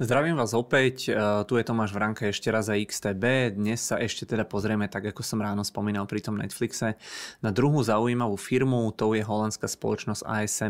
Zdravím vás opäť, tu je Tomáš Vránka ešte raz za XTB. Dnes sa ešte teda pozrieme, tak ako som ráno spomínal pri tom Netflixe, na druhú zaujímavú firmu, to je holandská spoločnosť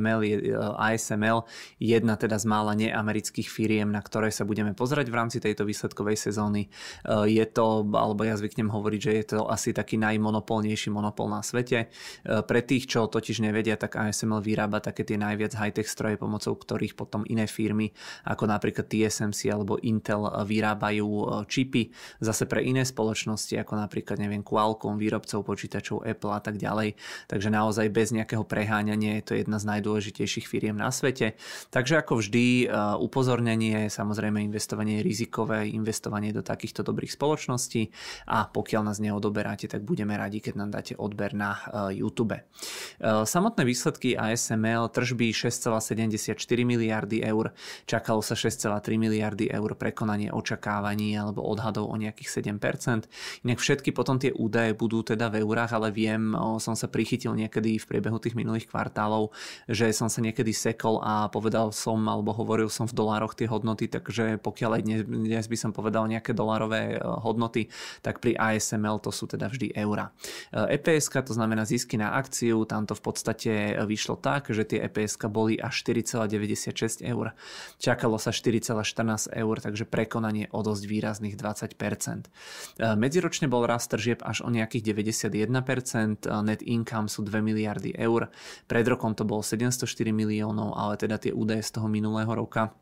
ASML, jedna teda z mála neamerických firiem, na ktoré sa budeme pozerať v rámci tejto výsledkovej sezóny. Je to, alebo ja zvyknem hovoriť, že je to asi taký najmonopolnejší monopol na svete. Pre tých, čo totiž nevedia, tak ASML vyrába také tie najviac high-tech stroje, pomocou ktorých potom iné firmy, ako napríklad TSMC alebo Intel, vyrábajú čipy zase pre iné spoločnosti, ako napríklad, neviem, Qualcomm, výrobcov počítačov, Apple a tak ďalej. Takže naozaj bez nejakého preháňania je to jedna z najdôležitejších firiem na svete. Takže ako vždy, upozornenie, samozrejme investovanie je rizikové, investovanie do takýchto dobrých spoločností, a pokiaľ nás neodoberáte, tak budeme radi, keď nám dáte odber na YouTube. Samotné výsledky ASML: tržby 6,74 miliardy eur, čakalo sa 6,3 miliardy eur, prekonanie očakávaní alebo odhadov o nejakých 7%. Inak všetky potom tie údaje budú teda v eurách, ale viem, som sa prichytil niekedy v priebehu tých minulých kvartálov, že som sa niekedy sekol a povedal som alebo hovoril som v dolároch tie hodnoty, takže pokiaľ aj dnes by som povedal nejaké dolárové hodnoty, tak pri ASML to sú teda vždy eurá. EPS, to znamená zisky na akciu, tam to v podstate vyšlo tak, že tie EPS boli až 4,96 eur. Čakalo sa 4,14 eur, takže prekonanie o dosť výrazných 20%. Medziročne bol rast tržieb až o nejakých 91%, net income sú 2 miliardy eur, pred rokom to bolo 704 miliónov, ale teda tie údaje z toho minulého roka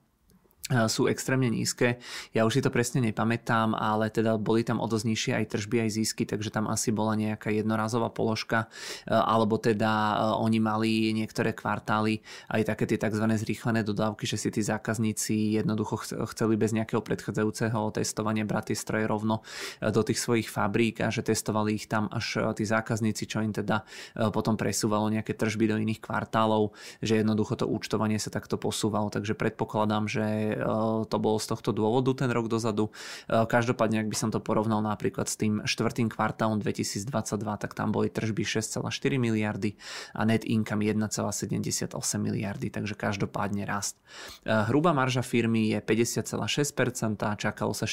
sú extrémne nízke. Ja už si to presne nepamätám, ale teda boli tam o dosť nižšie aj tržby, aj zisky, takže tam asi bola nejaká jednorazová položka, alebo teda oni mali niektoré kvartály aj také tie tzv. Zrýchlené dodávky, že si tí zákazníci jednoducho chceli bez nejakého predchádzajúceho testovania brať tie stroje rovno do tých svojich fabrík a že testovali ich tam až tí zákazníci, čo im teda potom presúvalo nejaké tržby do iných kvartálov, že jednoducho to účtovanie sa takto posúvalo, takže predpokladám, že to bolo z tohto dôvodu ten rok dozadu. Každopádne, ak by som to porovnal napríklad s tým štvrtým kvartálom 2022, tak tam boli tržby 6,4 miliardy a net income 1,78 miliardy, takže každopádne rast. Hrubá marža firmy je 50,6%, čakalo sa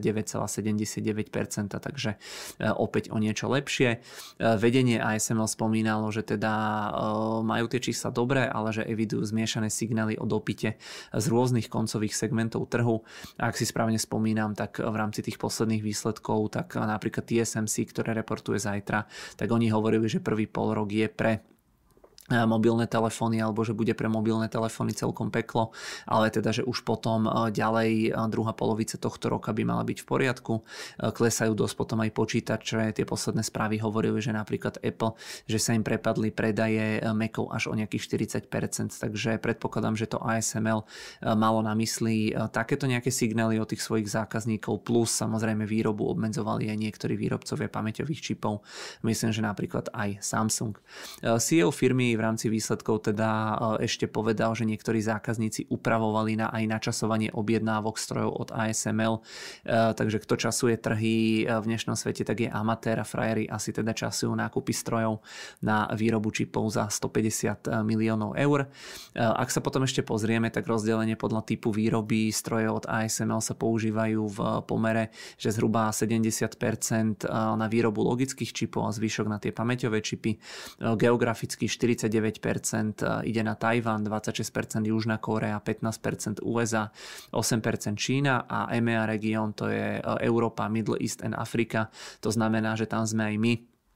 49,79%, takže opäť o niečo lepšie. Vedenie ASML spomínalo, že teda majú tie čísla dobré, ale že evidujú zmiešané signály o dopyte z rôznych koncových segmentov trhu. A ak si správne spomínam, tak v rámci tých posledných výsledkov, tak napríklad TSMC, ktoré reportuje zajtra, tak oni hovorili, že prvý polrok je pre mobilné telefóny, alebo že bude pre mobilné telefóny celkom peklo, ale teda, že už potom ďalej druhá polovica tohto roka by mala byť v poriadku. Klesajú dosť potom aj počítače, tie posledné správy hovorili, že napríklad Apple, že sa im prepadli predaje Macov až o nejakých 40%, takže predpokladám, že to ASML malo na mysli takéto nejaké signály od tých svojich zákazníkov, plus samozrejme výrobu obmedzovali aj niektorí výrobcovia pamäťových čipov, myslím, že napríklad aj Samsung. CEO firmy v rámci výsledkov teda ešte povedal, že niektorí zákazníci upravovali na aj načasovanie objednávok strojov od ASML, takže kto časuje trhy v dnešnom svete, tak je amatér, a frajeri asi teda časujú nákupy strojov na výrobu čipov za 150 miliónov eur. Ak sa potom ešte pozrieme, tak rozdelenie podľa typu výroby strojov od ASML sa používajú v pomere, že zhruba 70% na výrobu logických čipov a zvyšok na tie pamäťové čipy. Geograficky 49% ide na Tajvan, 26% Južná Kórea, 15% USA, 8% Čína a EMEA región, to je Európa, Middle East and Afrika. To znamená, že tam sme aj my.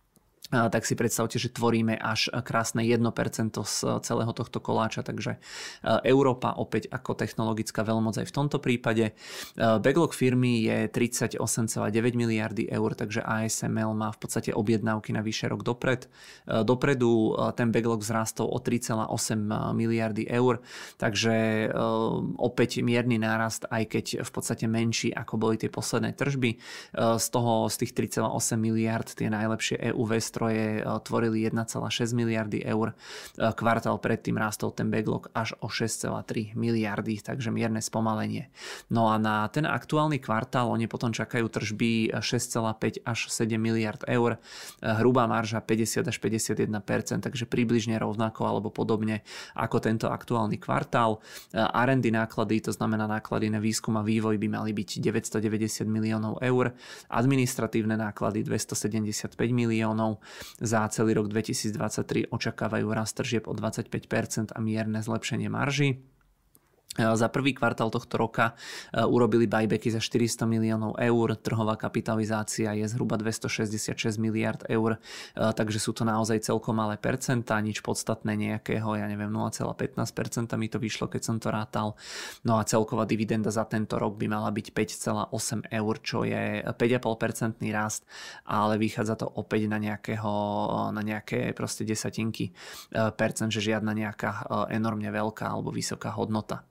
Tak si predstavte, že tvoríme až krásne 1% z celého tohto koláča, takže Európa opäť ako technologická veľmoc aj v tomto prípade. Backlog firmy je 38,9 miliardy eur, takže ASML má v podstate objednávky na vyše rok dopredu. Ten backlog vzrástol o 3,8 miliardy eur, takže opäť mierny nárast, aj keď v podstate menší ako boli tie posledné tržby. Z tých 3,8 miliard tie najlepšie EUV stroje nástroje tvorili 1,6 miliardy eur. Kvartál predtým rástol ten backlog až o 6,3 miliardy, takže mierne spomalenie. No a na ten aktuálny kvartál oni potom čakajú tržby 6,5 až 7 miliard eur, hrubá marža 50 až 51%, takže približne rovnako alebo podobne ako tento aktuálny kvartál. R&D náklady, to znamená náklady na výskum a vývoj, by mali byť 990 miliónov eur, administratívne náklady 275 miliónov. Za celý rok 2023 očakávajú rast tržieb o 25% a mierne zlepšenie marží. Za prvý kvartál tohto roka urobili buybacky za 400 miliónov eur, trhová kapitalizácia je zhruba 266 miliard eur, takže sú to naozaj celkom malé percentá, nič podstatné nejakého, 0,15% mi to vyšlo, keď som to rátal. No a celková dividenda za tento rok by mala byť 5,8 eur, čo je 5,5% rast, ale vychádza to opäť na nejaké proste desatinky percent, že žiadna nejaká enormne veľká alebo vysoká hodnota.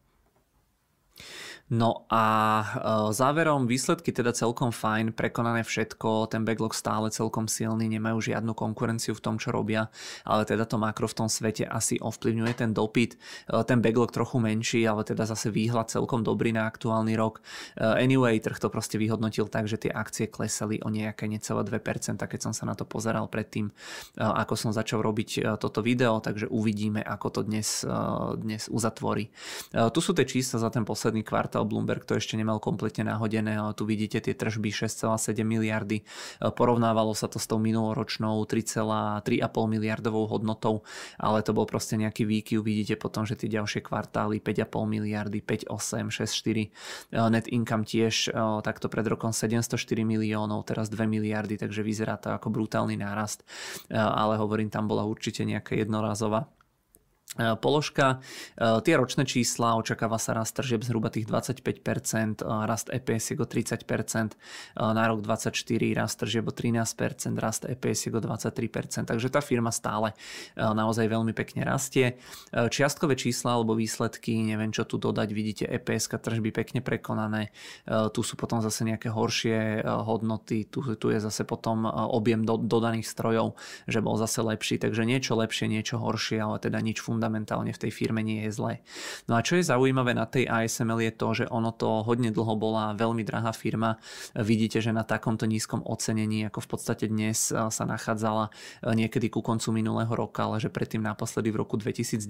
No a záverom výsledky teda celkom fajn, prekonané všetko, ten backlog stále celkom silný, nemajú žiadnu konkurenciu v tom, čo robia, ale teda to makro v tom svete asi ovplyvňuje ten dopyt. Ten backlog trochu menší, ale teda zase výhľad celkom dobrý na aktuálny rok. Anyway, trh to proste vyhodnotil tak, že tie akcie klesali o nejaké necelé 2%, keď som sa na to pozeral predtým, ako som začal robiť toto video, takže uvidíme, ako to dnes uzatvorí. Tu sú tie čísla za ten posledný kvartál. Bloomberg to ešte nemal kompletne nahodené, ale tu vidíte tie tržby 6,7 miliardy. Porovnávalo sa to s tou minuloročnou 3,5 miliardovou hodnotou, ale to bol proste nejaký výkyv. Vidíte potom, že tie ďalšie kvartály 5,5 miliardy, 5,8, 6,4. Net income tiež takto pred rokom 704 miliónov, teraz 2 miliardy, takže vyzerá to ako brutálny nárast, ale hovorím, tam bola určite nejaká jednorazová položka. Tie ročné čísla, očakáva sa rast tržieb zhruba tých 25%, rast EPS o 30%, na rok 24 rast tržieb o 13%, rast EPS o 23%, takže tá firma stále naozaj veľmi pekne rastie. Čiastkové čísla alebo výsledky, neviem čo tu dodať, vidíte EPS tržby pekne prekonané, tu sú potom zase nejaké horšie hodnoty, tu je zase potom objem dodaných strojov, že bol zase lepší, takže niečo lepšie, niečo horšie, ale teda nič fundamentálne v tej firme nie je zlé. No a čo je zaujímavé na tej ASML je to, že ono to hodne dlho bola veľmi drahá firma. Vidíte, že na takomto nízkom ocenení, ako v podstate dnes sa nachádzala niekedy ku koncu minulého roka, ale že predtým naposledy v roku 2019.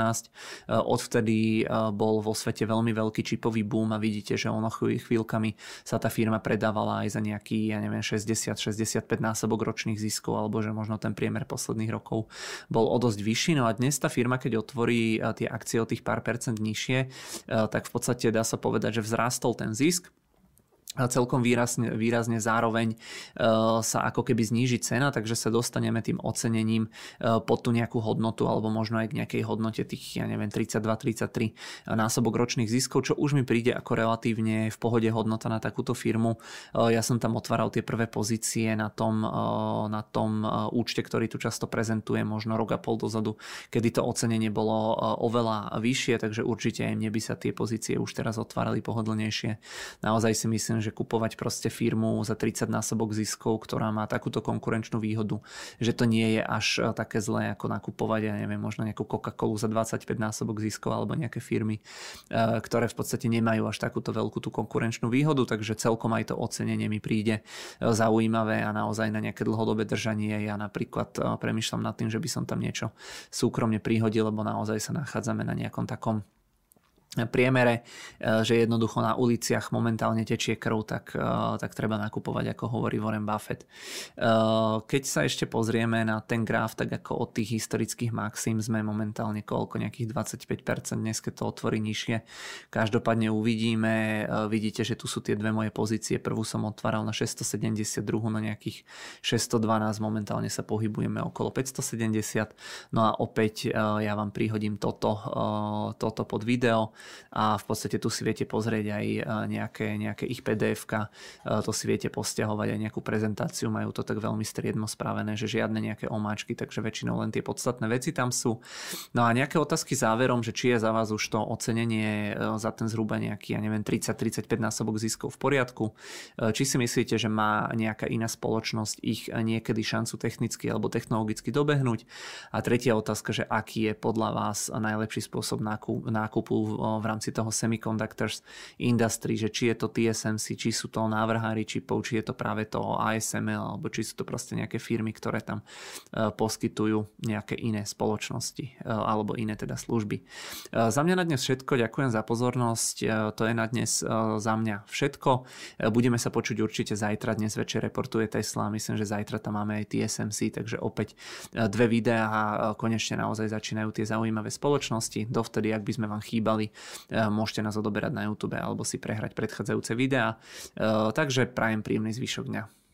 Odvtedy bol vo svete veľmi veľký čipový boom a vidíte, že ono chvíľkami sa tá firma predávala aj za nejaký, 60-65 násobok ročných ziskov, alebo že možno ten priemer posledných rokov bol o dosť vyšší. No a dnes tá firma, keď otvorí tie akcie o tých pár percent nižšie, tak v podstate dá sa povedať, že vzrástol ten zisk. Celkom výrazne zároveň sa ako keby zníži cena, takže sa dostaneme tým ocenením pod tú nejakú hodnotu alebo možno aj k nejakej hodnote tých 32-33 násobok ročných ziskov, čo už mi príde ako relatívne v pohode hodnota na takúto firmu. Ja som tam otváral tie prvé pozície na tom účte, ktorý tu často prezentuje, možno rok a pol dozadu, kedy to ocenenie bolo oveľa vyššie, takže určite aj mne by sa tie pozície už teraz otvárali pohodlnejšie. Naozaj si myslím, že kupovať proste firmu za 30 násobok ziskov, ktorá má takúto konkurenčnú výhodu, že to nie je až také zlé ako nakupovať, možno nejakú Coca-Colu za 25 násobok ziskov alebo nejaké firmy, ktoré v podstate nemajú až takúto veľkú tú konkurenčnú výhodu, takže celkom aj to ocenenie mi príde zaujímavé a naozaj na nejaké dlhodobé držanie. Ja napríklad premýšľam nad tým, že by som tam niečo súkromne prihodil, lebo naozaj sa nachádzame na nejakom takom priemere, že jednoducho na uliciach momentálne tečie krv, tak treba nakupovať, ako hovorí Warren Buffett. Keď sa ešte pozrieme na ten graf, tak ako od tých historických maxim sme momentálne nejakých 25%, dnes keď to otvorí nižšie. Každopádne uvidíme, vidíte, že tu sú tie dve moje pozície, prvú som otváral na 670, druhú na nejakých 612, momentálne sa pohybujeme okolo 570, no a opäť ja vám prihodím toto pod video. a v podstate tu si viete pozrieť aj nejaké ich PDF-ka, to si viete posťahovať aj nejakú prezentáciu, majú to tak veľmi striedmo spravené, že žiadne nejaké omáčky, takže väčšinou len tie podstatné veci tam sú. No a nejaké otázky záverom, že či je za vás už to ocenenie za ten zhruba nejaký, 30-35 násobok ziskov v poriadku, či si myslíte, že má nejaká iná spoločnosť ich niekedy šancu technicky alebo technologicky dobehnúť. A tretia otázka, že aký je podľa vás najlepší spôsob nákupu v rámci toho semiconductors industry, že či je to TSMC, či sú to návrhári čipov, či je to práve to ASML, alebo či sú to proste nejaké firmy, ktoré tam poskytujú nejaké iné spoločnosti alebo iné teda služby. Za mňa na dnes všetko, ďakujem za pozornosť, to je na dnes za mňa všetko. Budeme sa počuť určite zajtra, dnes večer reportuje Tesla, myslím, že zajtra tam máme aj TSMC, takže opäť 2 videá a konečne naozaj začínajú tie zaujímavé spoločnosti. Dovtedy, ak by sme vám chýbali, môžete nás odoberať na YouTube alebo si prehrať predchádzajúce videá. Takže prajem príjemný zvyšok dňa.